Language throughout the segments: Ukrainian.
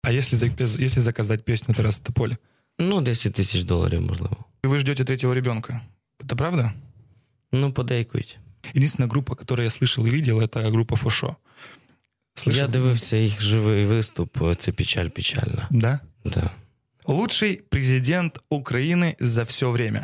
А если заказать песню Тараса Тополя? Ну, $10 тисяч, можливо. Вы ждете третьего ребенка. Это правда? Ну, подейкують. Единственная группа, которую я слышал и видел, это группа Фошо. Слышал? Я дивився їх живий виступ. Це печаль печальна. Да? Да. Лучший президент Украины за все время.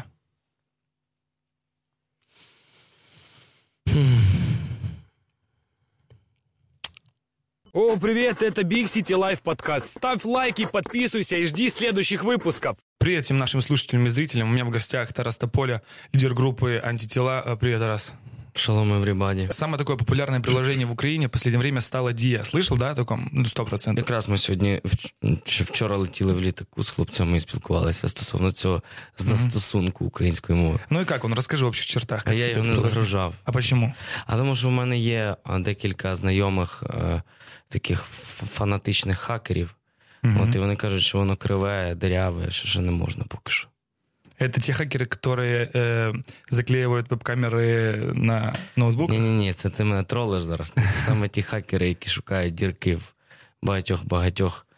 О, привет, это Big City Life подкаст. Ставь лайки, подписывайся и жди следующих выпусков. Привет всем нашим слушателям и зрителям. У меня в гостях Тарас Тополя, лидер группы «Антитела». Привет, Тарас. Шалом, everybody. Самое такое популярное приложение в Україні в последнее время стало Дія. Слышал, да, о такому? 100%. Якраз ми сьогодні, вчора летіли в літаку з хлопцями і спілкувалися стосовно цього застосунку української мови. Ну і як він? Розкажи в общих чертах. А я його не загружав. А почему? А тому що в мене є декілька знайомих таких фанатичних хакерів. От, і вони кажуть, що воно криве, диряве, що ще не можна поки що. Это те хакеры, которые заклеивают веб-камеры на ноутбуках? Ні, це ти мене тролиш зараз. Це саме ті хакери, які шукають дірки в багатьох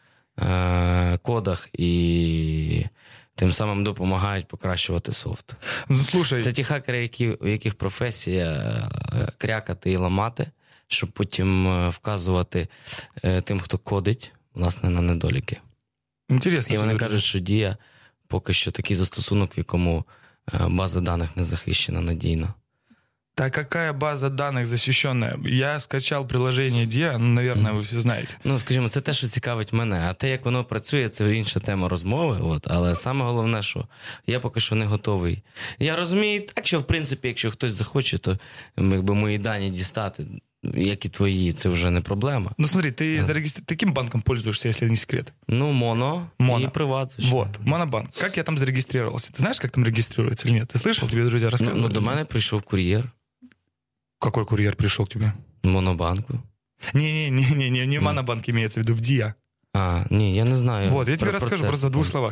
кодах і тим самим допомагають покращувати софт. Ну, слушай. Це ті хакери, у яких професія крякати і ламати, щоб потім вказувати тим, хто кодить, власне, на недоліки. Інтересно. І вони кажуть, що Дія поки що такий застосунок, в якому база даних не захищена надійно. Да какая база даних защищенная? Я скачав приложение Dia, наверное, ви всі знаєте. Ну, скажімо, це те, що цікавить мене. А те, як воно працює, це інша тема розмови. Але саме головне, що я поки що не готовий. Я розумію так, що, в принципі, якщо хтось захоче, то якби мої дані дістати, як і твої, це вже не проблема. Ну смотри, ты каким банком пользуешься, если не секрет? Ну, Моно. И Приват. Вот, Монобанк. Как я там зарегистрировался? Ты знаешь, как там регистрируется или нет? Ты слышал? Тебе друзья рассказывали? Ну, до мене прийшов кур'єр. Какой курьер пришел к тебе? Монобанку. Не Монобанк имеется в виду, в Dia. Не, я не знаю. Вот, я тебе расскажу просто в двух словах.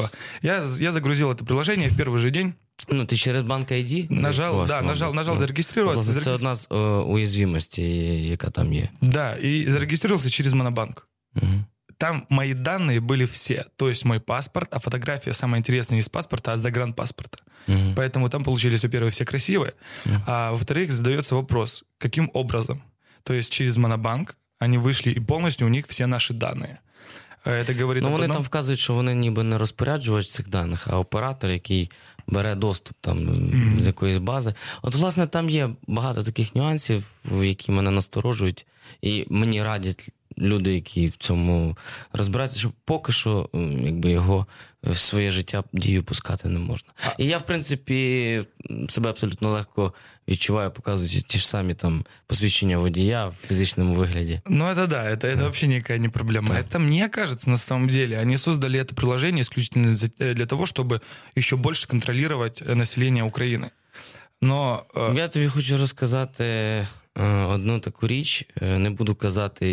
Я загрузил это приложение в первый же день. Ну, ти через банк ID? Нажал зарегистрироваться. Це одна з уязвимостей, яка там є. Да, и зарегистрировался через Монобанк. Там мои данные были все. То есть мой паспорт, а фотография самая интересная не с паспорта, а с загранпаспорта. Поэтому там получились, во-первых, все красивые. А во-вторых, задается вопрос, каким образом? То есть через Монобанк они вышли, и полностью у них все наши данные. Это говорит вони там вказують, що вони ніби не розпоряджувач цих даних, а оператор, який бере доступ там з якоїсь бази. От, власне, там є багато таких нюансів, які мене насторожують, і мені радять люди, які в цьому розбираються, що поки що якби його в своє життя Дію пускати не можна. І я, в принципі, себе абсолютно легко відчуваю, показуючи ті ж самі там посвідчення водія в фізичному вигляді. Ну, это да, это вообще никакая не проблема. Да. Это, мне кажется, на самом деле, они создали это приложение исключительно для того, чтобы еще больше контролировать население Украины. Но... Я тобі хочу розказати одну таку річ, не буду казати,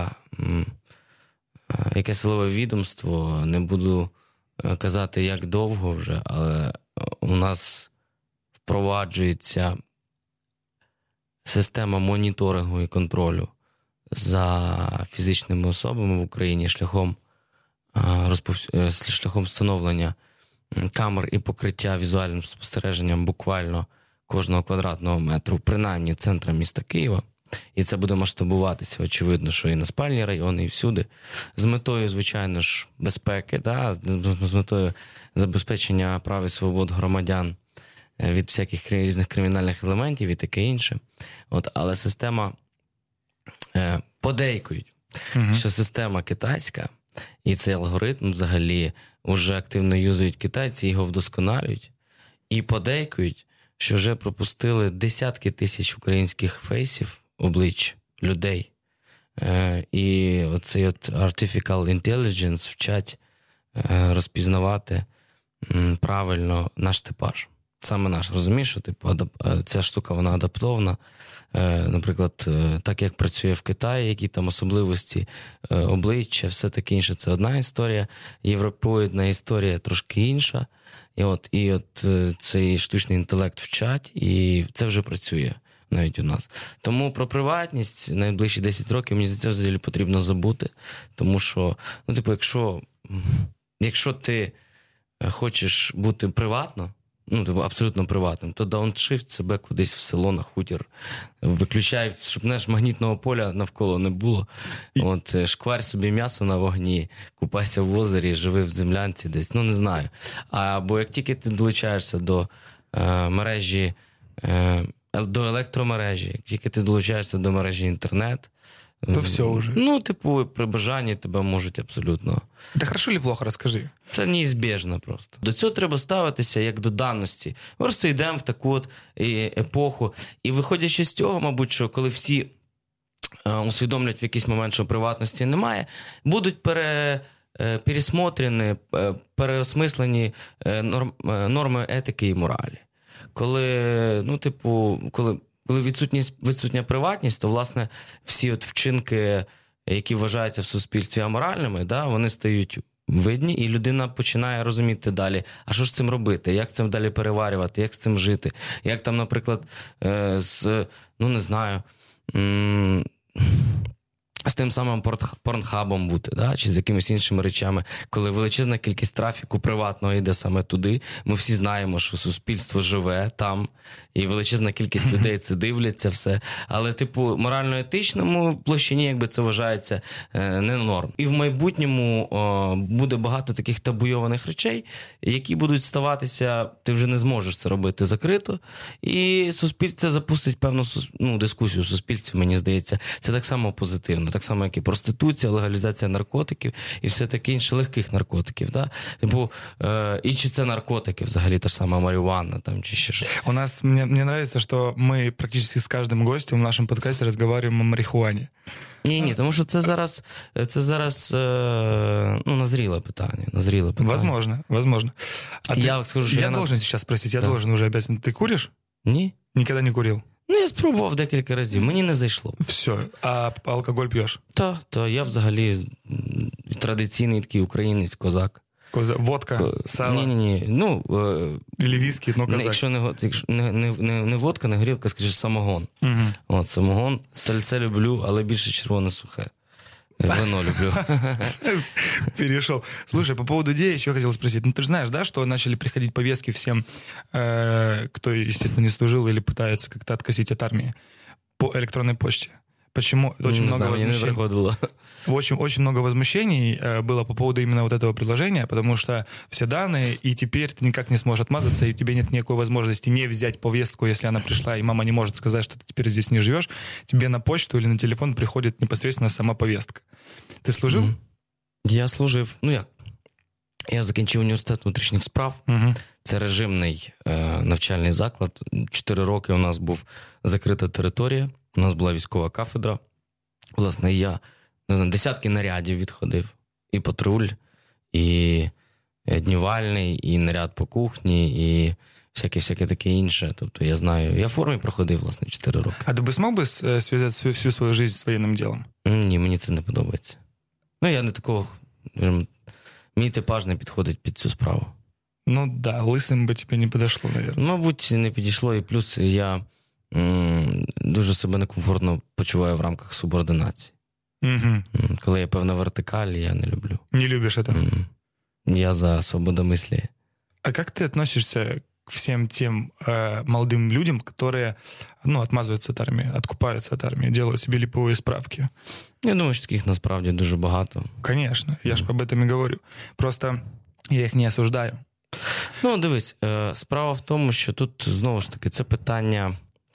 яке силове відомство, не буду казати, як довго вже, але у нас впроваджується система моніторингу і контролю за фізичними особами в Україні шляхом встановлення камер і покриття візуальним спостереженням буквально кожного квадратного метру, принаймні центра міста Києва. І це буде масштабуватися, очевидно, що і на спальні райони, і всюди. З метою, звичайно ж, безпеки, да? З метою забезпечення прав і свобод громадян від всяких різних кримінальних елементів і таке інше. Але система подейкують, що система китайська, і цей алгоритм взагалі вже активно юзують китайці, його вдосконалюють, і подейкують, що вже пропустили десятки тисяч українських фейсів, облич людей. І оцей Artificial Intelligence вчать розпізнавати правильно наш типаж. Саме наш. Розумієш, що ця штука, вона адаптована. Наприклад, так як працює в Китаї, які там особливості обличчя, все таке інше. Це одна історія. Європоїдна історія трошки інша. І от цей штучний інтелект вчать, і це вже працює. навіть у нас. Тому про приватність найближчі 10 років, мені здається, взагалі потрібно забути. Тому що, якщо ти хочеш бути приватно, абсолютно приватним, то дауншифт себе кудись в село, на хутір. Виключай, щоб магнітного поля навколо не було. Шкварь собі м'ясо на вогні, купайся в озері, живи в землянці десь, не знаю. Або як тільки ти долучаєшся до мережі, до електромережі, як тільки ти долучаєшся до мережі інтернет, то все уже. При бажанні тебе можуть абсолютно... Це хорошо чи плохо, розкажи. Це неізбіжно просто. До цього треба ставитися як до даності. Ми просто йдемо в таку епоху. І виходячи з цього, мабуть, що коли всі усвідомлять в якийсь момент, що приватності немає, будуть пересмотрені, переосмислені норми етики і моралі. Коли відсутня приватність, то, власне, всі вчинки, які вважаються в суспільстві аморальними, вони стають видні, і людина починає розуміти далі, а що ж з цим робити, як цим далі переварювати, як з цим жити, як там, наприклад, з тим самим порнхабом бути, чи з якимись іншими речами, коли величезна кількість трафіку приватного йде саме туди. Ми всі знаємо, що суспільство живе там, і величезна кількість людей це дивляться все. Але, морально-етичному площині, якби це вважається, не норм. І в майбутньому буде багато таких табуйованих речей, які будуть ставатися, ти вже не зможеш це робити закрито, і суспільство запустить певну дискусію в суспільстві, мені здається. Це так само позитивно. Так само, як і проституція, легалізація наркотиків і все таке інше, легких наркотиків. І чи це наркотики взагалі, та ж сама марихуана чи ще щось. У нас, мне нравится, что мы практически с каждым гостем в нашем подкасте разговариваем о марихуане. Ні, тому що це зараз назріле питання. Возможно. Я скажу, що я должен сейчас спросить, должен уже обязательно. Ты куришь? Ні. Никогда не курил? Я спробував декілька разів, мені не зайшло. Все, а алкоголь п'єш? Так, я взагалі традиційний такий українець, козак. Водка, сало? Ні. Или віскі, козак. Якщо не водка, не горілка, скажи, самогон. Угу. Самогон, сальце люблю, але більше червоне сухе. Вино люблю. Перешел. Слушай, по поводу идеи еще хотел спросить. Ты же знаешь, да, что начали приходить повестки всем, кто, естественно, не служил или пытается как-то откосить от армии по электронной почте? Почему? Очень много возмущений. Очень много возмущений было по поводу именно вот этого предложения, потому что все данные, и теперь ты никак не сможешь отмазаться, и у тебя нет никакой возможности не взять повестку, если она пришла, и мама не может сказать, что ты теперь здесь не живешь, тебе на почту или на телефон приходит непосредственно сама повестка. Ты служил? Я служив. Я закінчив університет внутрішніх справ. Це режимний навчальний заклад. 4 роки у нас був закрита територія. У нас була військова кафедра. Власне, я десятки нарядів відходив. І патруль, і днівальний, і наряд по кухні, і всяке таке інше. Тобто я знаю. Я в формі проходив, власне, 4 роки. А ти би змог би зв'язати всю свою життя з воєнним ділом? Ні, мені це не подобається. Я не такого... Мій типаж не підходить під цю справу. Лисим би тобі не підійшло, мабуть. Мабуть, не підійшло, і плюс я дуже себе некомфортно почуваю в рамках субординації. Угу. Коли є певна вертикаль, я не люблю. Не любиш це? Я за свободомислие. А як ти відносишся к всем тем молодым людям, которые отмазываются от армии, откупаются от армии, делают себе липовые справки? Я думаю, що таких насправді дуже багато. Конечно, я ж об этом і говорю. Просто я їх не осуждаю. Дивись, справа в тому, що тут, знову ж таки, це питання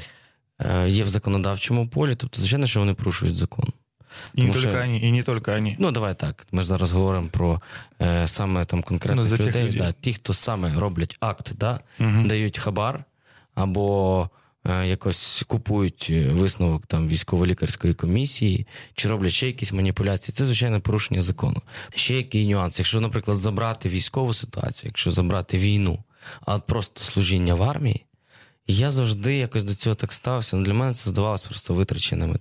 є в законодавчому полі, тобто, звичайно, що вони порушують закон. І не тільки вони. Давай так, ми ж зараз говоримо про саме там конкретних людей. Ті, хто саме роблять акт, дають хабар, або якось купують висновок там військово-лікарської комісії, чи роблять ще якісь маніпуляції. Це, звичайно, порушення закону. Ще який нюанс. Якщо, наприклад, забрати військову ситуацію, якщо забрати війну, а просто служіння в армії, Я завжди якось до цього так ставився. Для мене це здавалося просто витраченими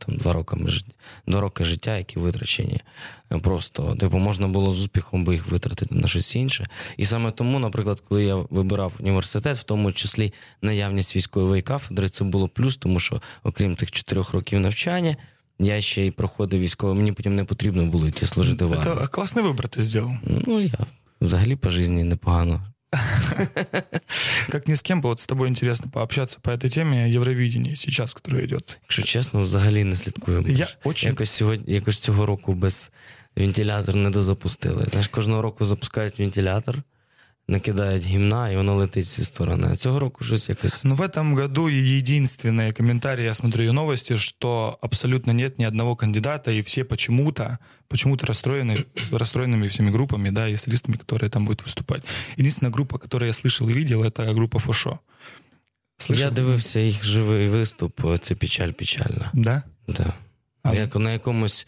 2 роки життя, які витрачені. Просто, можна було з успіхом би їх витратити на щось інше. І саме тому, наприклад, коли я вибирав університет, в тому числі наявність військової кафедри, це було плюс, тому що, окрім тих 4 років навчання, я ще й проходив військове, мені потім не потрібно було йти служити в армії. Це класний вибір ти зробив. Я взагалі по житті непогано. Как ни с кем, вот с тобой интересно пообщаться по этой теме Евровидения сейчас, которое идет. Якщо чесно, взагалі не слідкую. Якось цього року без вентилятора не дозапустили. Знаєш, кожного року запускають вентилятор, накидають гімна, и оно летить в все стороны. А цього року щось якось... В этом году единственный комментарий, я смотрю новости, что абсолютно нет ни одного кандидата, и все почему-то расстроенными всеми группами, да, и солистами, которые там будут выступать. Единственная группа, которую я слышал и видел, это группа Фошо. Я дивився їх живий виступ, це печаль-печальна. Да? Да. На якомусь...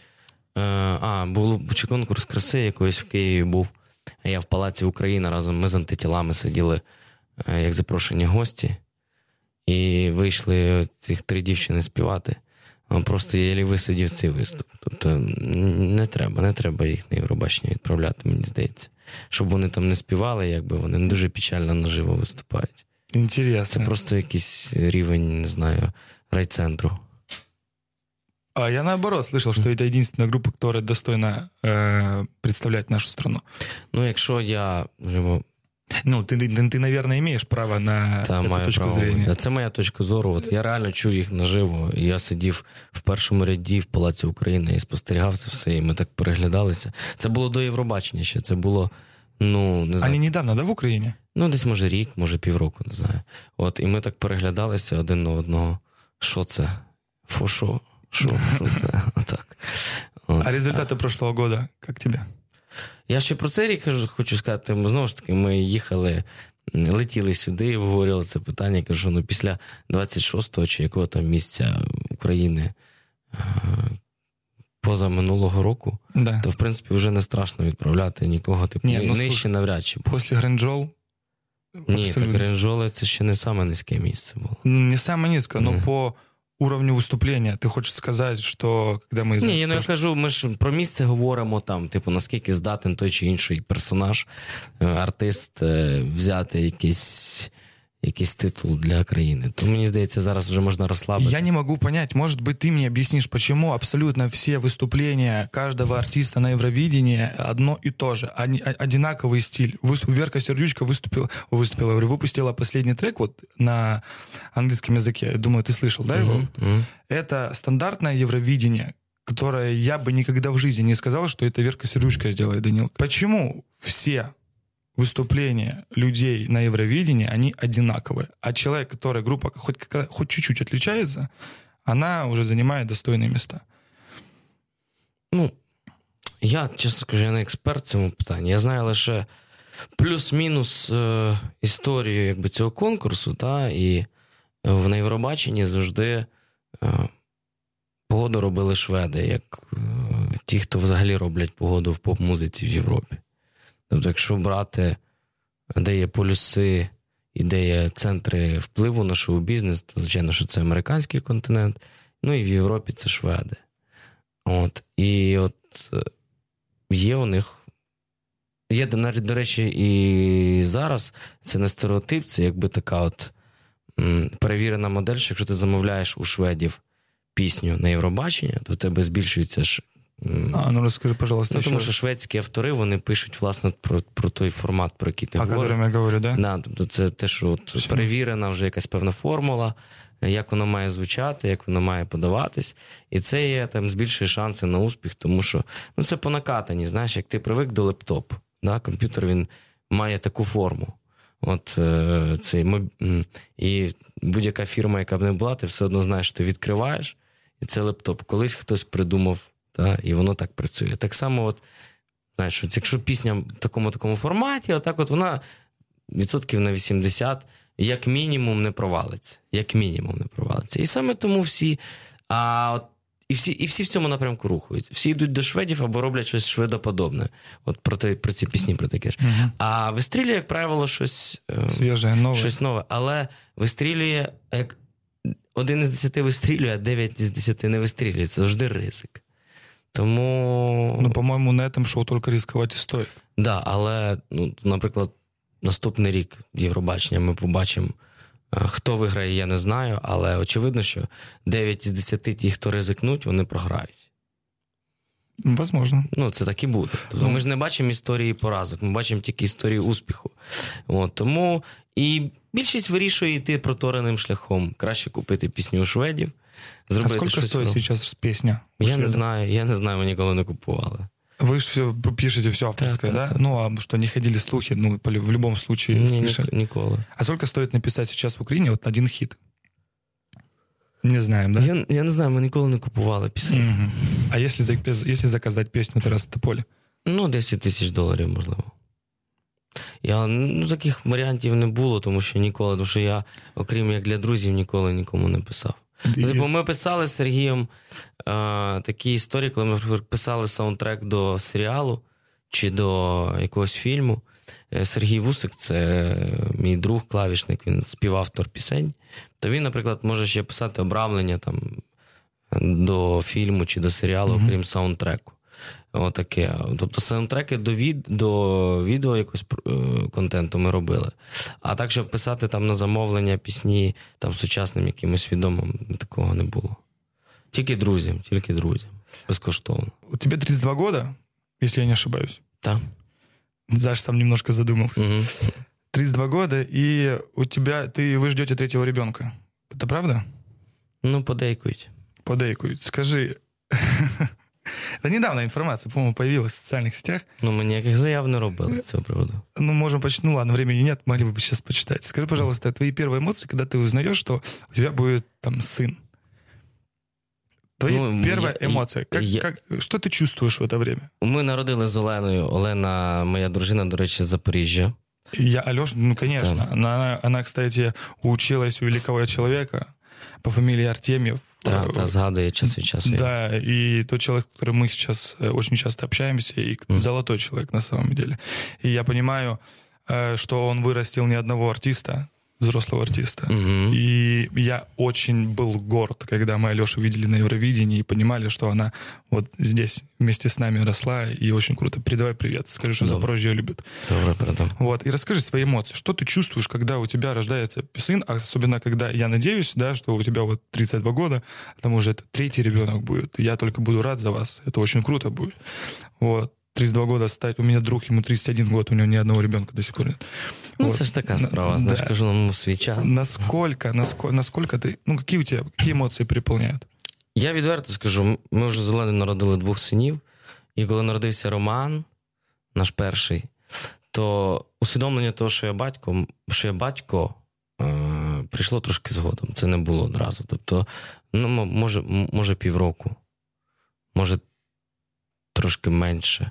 був чи конкурс краси якоїсь в Києві був. Я в Палаці Україна разом, ми з антитілами сиділи як запрошені гості, і вийшли цих 3 дівчини співати. Просто єлі висидів цей виступ. Тобто не треба їх на Євробачення відправляти, мені здається. Щоб вони там не співали, якби вони не дуже печально наживо виступають. Інтересно. Це просто якийсь рівень, не знаю, райцентру. А я наоборот слышал, что это единственная группа, которая достойна представлять нашу страну. Якщо я... Ты, наверное, имеешь право на эту точку зрения. Це моя точка зору. Я реально чув їх наживо. Я сидів в першому ряді в Палаці України і спостерігав це все, і ми так переглядалися. Це було до Євробачення ще. Це було, не знаю. Вони недавно, да, в Україні? Десь, може, рік, може, півроку, не знаю. І ми так переглядалися один на одного. Що це? Фошо? Що це? Отак. А результати прошлого года, як тебе? Я ще про цей рік хочу сказати, знову ж таки, ми летіли сюди і обговорювали це питання. Кажу, після 26-го чи якого там місця України поза минулого року, да. То, в принципі, вже не страшно відправляти нікого, нижче навряд чи. Після Гринджол? Ні, так Гринджоли це ще не саме низьке місце було. Не саме низьке, але по уровню виступлення. Ти хочеш сказати, що коли ми... Ні, я кажу, ми ж про місце говоримо там, наскільки здатен той чи інший персонаж, артист взяти якийсь титул для країни. То, мені здається, зараз вже можна розслабитися. Я не можу понять, может быть, ты мне объяснишь, почему абсолютно все выступления каждого артиста на Евровидении одно и то же, одинаковый стиль. Верка Сердючка выпустила последний трек на английском языке. Я думаю, ты слышал, да, его? Это стандартное Евровидение, которое я бы никогда в жизни не сказал, что это Верка Сердючка сделает, Данил. Почему все выступления людей на Евровидении, они одинаковые. А человек, который группа хоть чуть-чуть отличается, она уже занимает достойные места. Я, чесно скажу, я не експерт в цьому питанні. Я знаю лише плюс-мінус історію цього конкурсу, і на Євробаченні завжди погоду робили шведи, як ті, хто взагалі роблять погоду в поп-музиці в Європі. Тобто, якщо брати, де є полюси і де є центри впливу на шоу-бізнес, то, звичайно, що це американський континент, і в Європі це шведи. І є у них, є, до речі, і зараз це не стереотип, це така перевірена модель, що якщо ти замовляєш у шведів пісню на Євробачення, то в тебе збільшується ж. Розкажи, пожалуйста. Тому що шведські автори, вони пишуть, власне, про той формат, про який ти говориш. О котором я говорю, да? Да, тобто це те, що перевірена вже якась певна формула, як воно має звучати, як воно має подаватись. І це є, збільшує шанси на успіх, тому що, це по накатанні, знаєш, як ти привик до лептопу, да? Комп'ютер, він має таку форму. І будь-яка фірма, яка б не була, ти все одно знаєш, що ти відкриваєш, і це лептоп. Колись хтось придумав, і воно так працює. Так само, знаєш, якщо пісня в такому форматі, вона відсотків на 80, як мінімум, не провалиться. І саме тому всі... І всі в цьому напрямку рухаються. Всі йдуть до шведів або роблять щось шведоподобне. От про ці пісні, про таке ж. А вистрілює, як правило, щось свіже, нове. Щось нове. Але вистрілює, як 1 із 10 вистрілює, а 9 із 10 не вистрілює. Це завжди ризик. Тому... Ну, по-моєму, на цьому шоу тільки ризикувати і стоїть. Да, але, наприклад, наступний рік Євробачення ми побачимо. Хто виграє, я не знаю, але очевидно, що 9 із 10 ті, хто ризикнуть, вони програють. Возможно. Це так і буде. Тобто ми ж не бачимо історії поразок, ми бачимо тільки історію успіху. Тому і більшість вирішує йти протореним шляхом. Краще купити пісню у шведів. А скільки стоїть зараз пісня? Я не знаю, ми ніколи не купували. Вы же все пишете все авторское, да? Ну, а что, не ходили слухи? Ну, в любом случае слышали. Николи. А сколько стоит написать сейчас в Украине вот один хит? Не знаем, да? Я не знаю, ми ніколи не купували пісень. Угу. А если заказать песню Тараса Тополі? $10 000, можливо. Таких варіантів не було, тому що я, окрім як для друзів, ніколи нікому не писав. Ми писали з Сергієм такі історії, коли ми писали саундтрек до серіалу чи до якогось фільму. Сергій Вусик, це мій друг, клавішник, він співавтор пісень. То він, наприклад, може ще писати обрамлення там, до фільму чи до серіалу, окрім саундтреку. Отаке. Тобто саундтреки до відео якогось контенту ми робили. А так, щоб писати там на замовлення пісні там сучасним якимось відомим, такого не було. Тільки друзям. Безкоштовно. У тебе 32 года, если я не ошибаюсь. Так. Заш сам немножко задумался. Угу. 32 года, и вы ждете 3-го ребенка. Это правда? Подейкують. Скажи... Это недавно информация, по-моему, появилась в социальных сетях. Ми ніяких заяв не робили з цього приводу. Можем почитать. Ладно, времени нет, могли бы сейчас почитать. Скажи, пожалуйста, твои первые эмоции, когда ты узнаешь, что у тебя будет там сын. Твои первая эмоция. Что ты чувствуешь в это время? Ми народили з Оленою. Олена, моя дружина, до речі, з Запоріжжя. Алёша, конечно. Она, кстати, училась у великого человека по фамилии Артемьев. Да, згадує час від часу. Да, и тот человек, с которым мы сейчас очень часто общаемся, и золотой человек на самом деле. И я понимаю, что он вырастил не одного артиста, взрослого артиста. И я очень был горд, когда мы Алёшу видели на Евровидении и понимали, что она вот здесь вместе с нами росла, и очень круто. Передавай привет, скажи, что Запорожье любит. Добре, передам. Вот, и расскажи свои эмоции. Что ты чувствуешь, когда у тебя рождается сын, особенно когда, я надеюсь, да, что у тебя вот 32 года, к тому же это 3-й ребенок будет. Я только буду рад за вас, это очень круто будет. Вот. 32 года стать. У меня друг, ему 31 год, у него ни одного ребенка до сих пор нет. Це ж така справа, знаєш, кажу, нам свій час. Насколько ты, какие у тебя, какие эмоции переполняют? Я відверто скажу, ми вже з Оленою народили 2 синів, і коли народився Роман, наш перший, то усвідомлення того, що я батько, прийшло трошки згодом. Це не було одразу. Тобто, може півроку, може трошки менше.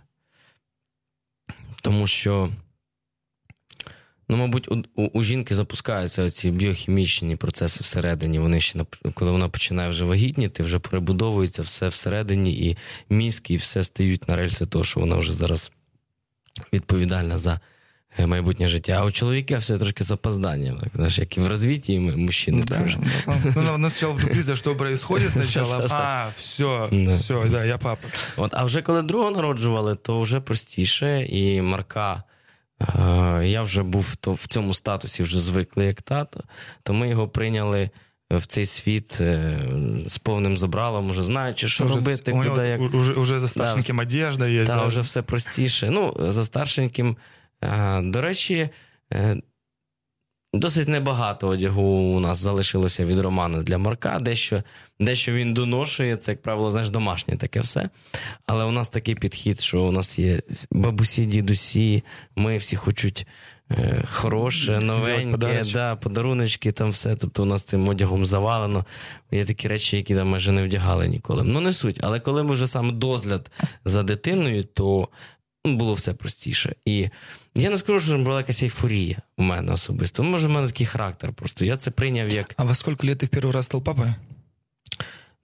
Тому що, мабуть, у жінки запускаються ці біохімічні процеси всередині. Вони ще, коли вона починає вже вагітніти, вже перебудовується все всередині, і мізки, і все стають на рельси того, що вона вже зараз відповідальна за майбутнє життя. А у чоловіка все трошки з опозданням. Знаєш, як і в розвитті мужчини. Да, вона спочатку вдруг, що відбувається спочатку, все, да, я папа. А вже коли другого народжували, то вже простіше, і Марка, я вже був в цьому статусі вже звиклий як тато, то ми його прийняли в цей світ з повним забралом, уже знаючи, що робити, куди, як... Уже за старшеньким одежда є. Так, вже все простіше. За старшеньким, до речі, досить небагато одягу у нас залишилося від Романа для Марка. Дещо він доношує, це, як правило, знаєш, домашнє таке все. Але у нас такий підхід, що у нас є бабусі, дідусі, ми всі хочуть хороше, новеньке, подаруночки, там все. Тобто у нас цим одягом завалено. Є такі речі, які там майже не вдягали ніколи. Не суть. Але коли ми вже саме догляд за дитиною, то було все простіше. І я не скажу, що була якась ейфорія у мене особисто. Може, в мене такий характер просто. Я це прийняв як... А во скільки лет ти в перший раз став папою?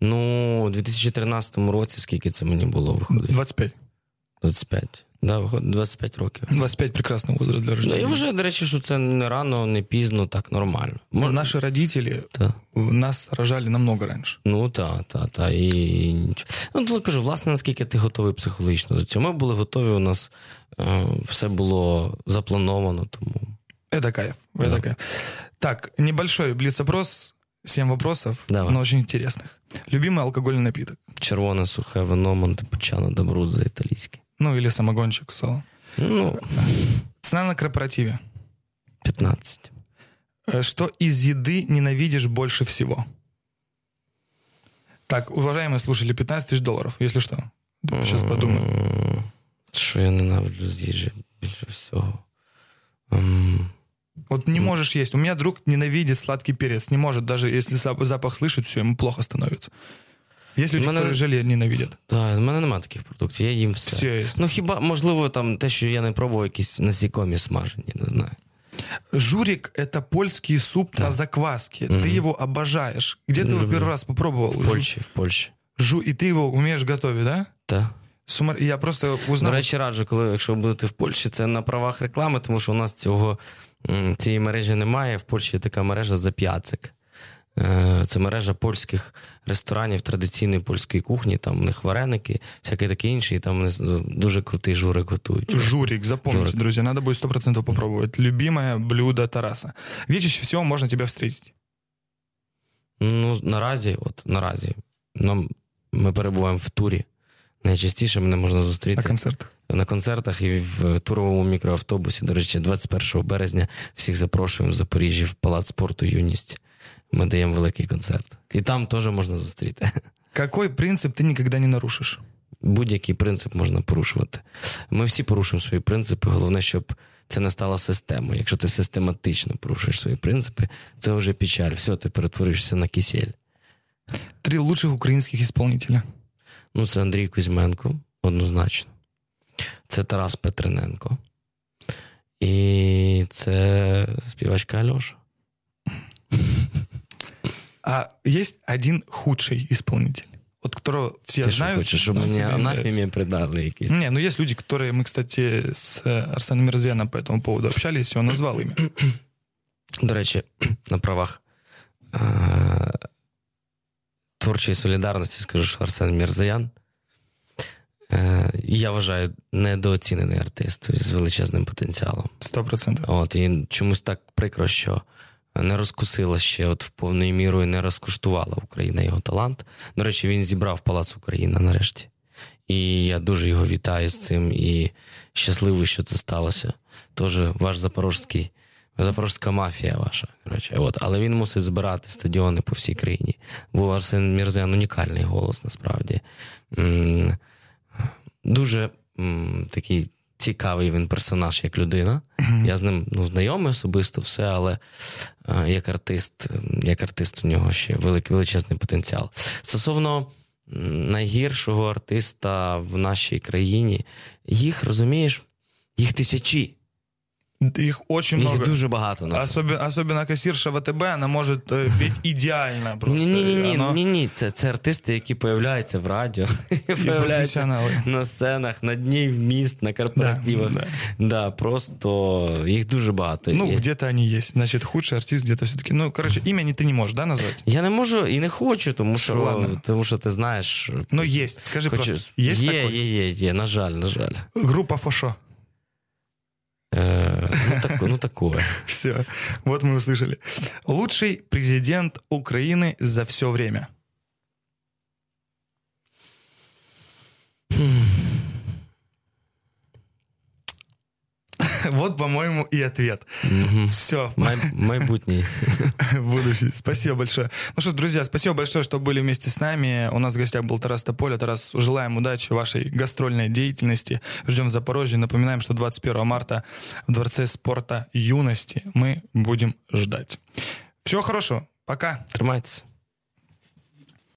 Ну, у 2013 році, скільки це мені було виходить? 25. 25. Да, виходить 25 років. 25 прекрасний возраст для рождения. Я вважаю, до речі, що це не рано, не пізно, так нормально. Наші родителі нас рожали намного раніше. Ну, та. І... Ну, кажу, власне, наскільки ти готовий психологічно до цього. Ми були готові, у нас все було заплановано, тому... Это кайф. Так, небольшой блиц-опрос, 7 вопросов, но очень интересных. Любимый алкогольный напиток? Червоне сухе вино, Монтепульчано d'Abruzzo італійське. Ну, или самогончик, сало. Ну, цена на корпоративе? 15. Что из еды ненавидишь больше всего? Так, уважаемые слушатели, $15 000, если что. Сейчас подумаю. Що я ненавиджу з їжі більше всього? Вот не можешь есть. У меня друг ненавидит сладкий перец. Не может, даже если запах слышит, все, ему плохо становится. Есть люди, які желе ненавидять. Так, в мене немає таких продуктів, я їм все. Ну хіба, можливо, там те, що я не пробував, якісь насікомі смажені, не знаю. Журик – это польский суп на закваске. Ты его обожаешь. Где ты его первый раз попробовал? В Польщі. И ты его умеешь готовить, да? Так. Я просто узнав... До речі, раджу, якщо будете в Польщі, це на правах реклами, тому що у нас цієї мережі немає. В Польщі є така мережа «Зап'яцик». Це мережа польських ресторанів традиційної польської кухні, там у них вареники, всяке таке інше, і там вони дуже крутий журик готують. Журик, запомните, друзья, надо будет 100% попробовать. Любимое блюдо Тараса. Где чаще всего можно тебя встретить? Ну, наразі ми перебуваємо в турі. Найчастіше мене можна зустріти на концертах. На концертах і в туровому мікроавтобусі. До речі, 21 березня всіх запрошуємо в Запоріжжі в Палац спорту «Юність». Ми даємо великий концерт. І там теж можна зустріти. Який принцип ти ніколи не нарушиш? Будь-який принцип можна порушувати. Ми всі порушуємо свої принципи. Головне, щоб це не стало системою. Якщо ти систематично порушуєш свої принципи, це вже печаль. Все, ти перетворишся на кисель. 3 лучших українських исполнителя. Ну, це Андрій Кузьменко, однозначно. Це Тарас Петрененко. І це співачка Альоша. А есть один худший исполнитель, от которого все Ты знают. Ты хочешь, чтобы мне анафеме придали якісь? Не, ну есть люди, которые... Мы, кстати, с Арсеном Мирзояном по этому поводу общались, и он назвал имя. До речі, на правах творчої солідарності скажу, що Арсен Мірзоян, я вважаю, недооцінений артист з величезним потенціалом. 100%. От, і чомусь так прикро, що не розкусила ще в повною мірою, не розкуштувала Україна його талант. До речі, він зібрав Палац Україна нарешті. І я дуже його вітаю з цим і щасливий, що це сталося. Тож ваш запорожська мафія ваша. Коротше. От. Але він мусить збирати стадіони по всій країні. Бо Арсен Мірзоян унікальний голос, насправді. Дуже такий цікавий він персонаж, як людина. Я з ним знайомий особисто все, але як артист у нього ще величезний потенціал. Стосовно найгіршого артиста в нашій країні, їх, розумієш, їх тисячі. Их очень много. Их дуже багато. Особенно кассирша ВТБ, она может петь идеально. Ні. Це артисти, які появляються в радіо, появляються на сценах, на дні міст, на корпоративах. Да, просто їх дуже багато. Ну, где-то они есть. Значит, худший артист где-то все-таки. Ну, короче, имя ты не можешь, да, назвать? Я не можу і не хочу, тому що ти знаєш... Ну, есть, скажи просто. Есть такой? Є, на жаль. Группа Фошо. Ну, такое. Все, вот мы услышали. Лучший президент Украины за все время. Вот, по-моему, и ответ. Все. Майбутний. Будущий. Спасибо большое. Ну что ж, друзья, спасибо большое, что были вместе с нами. У нас в гостях был Тарас Тополя. Тарас, желаем удачи в вашей гастрольной деятельности. Ждем в Запорожье. Напоминаем, что 21 марта в Дворце спорта юности мы будем ждать. Всего хорошего. Пока. Тримайтесь.